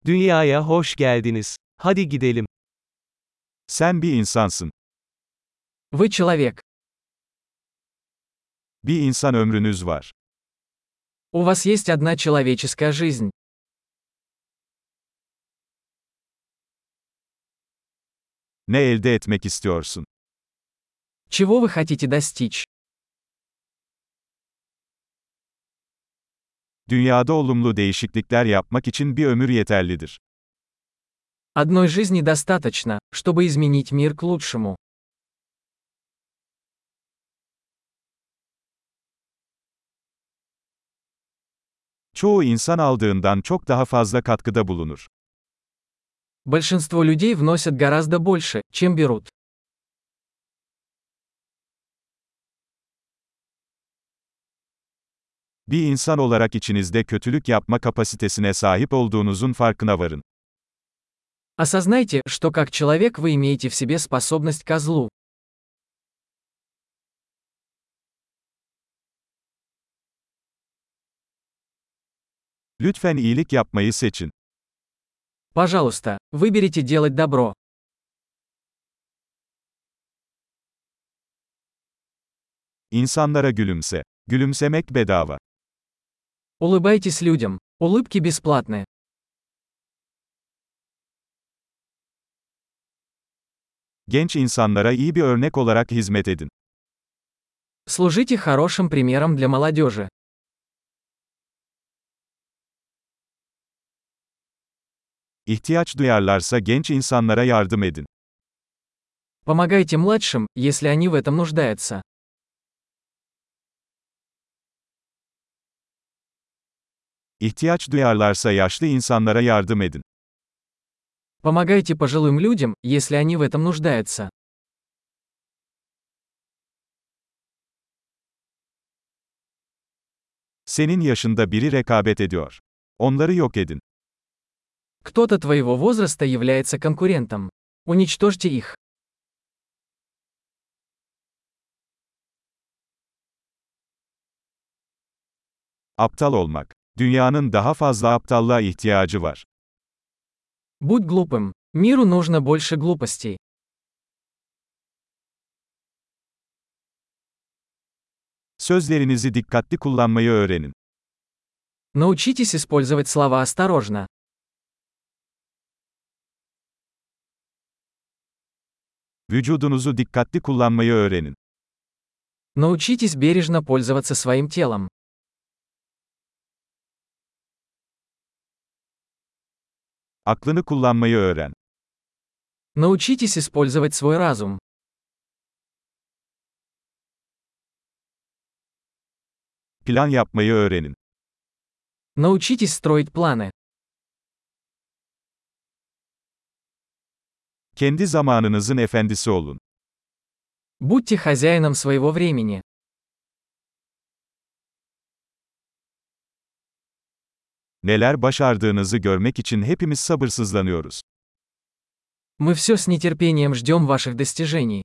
Dünyaya hoş geldiniz. Hadi gidelim. Sen bir insansın. Вы человек. Bir insan ömrünüz var. У вас есть одна человеческая жизнь. Ne elde etmek istiyorsun? Чего вы хотите достичь? Dünyada olumlu değişiklikler yapmak için bir ömür yeterlidir. Одной жизни достаточно, чтобы изменить мир к лучшему. Çoğu insan aldığından çok daha fazla katkıda bulunur. Большинство людей вносят гораздо больше, чем берут. Bir insan olarak içinizde kötülük yapma kapasitesine sahip olduğunuzun farkına varın. Осознайте, что как человек вы имеете в себе способность ко злу. Lütfen iyilik yapmayı seçin. Пожалуйста, выберите делать добро. İnsanlara gülümse. Gülümsemek bedava. Улыбайтесь людям. Улыбки бесплатны. Genç insanlara iyi bir örnek olarak hizmet edin. Служите хорошим примером для молодежи. İhtiyaç duyarlarsa genç insanlara yardım edin. Помогайте младшим, если они в этом нуждаются. İhtiyaç duyarlarsa yaşlı insanlara yardım edin. Помогайте пожилым людям, если они в этом нуждаются. Senin yaşında biri rekabet ediyor. Onları yok edin. Кто-то твоего возраста является конкурентом. Уничтожьте их. Aptal olmak. Dünyanın daha fazla aptallığa ihtiyacı var. Будь глупым. Миру нужно больше глупостей. Sözlerinizi dikkatli kullanmayı öğrenin. Научитесь использовать слова осторожно. Vücudunuzu dikkatli kullanmayı öğrenin. Научитесь бережно пользоваться своим телом. Aklını kullanmayı öğren. Научитесь использовать свой разум. Plan yapmayı öğrenin. Научитесь строить планы. Kendi zamanınızın efendisi olun. Будьте хозяином своего времени. Neler başardığınızı görmek için hepimiz sabırsızlanıyoruz. Мы все с нетерпением ждем ваших достижений.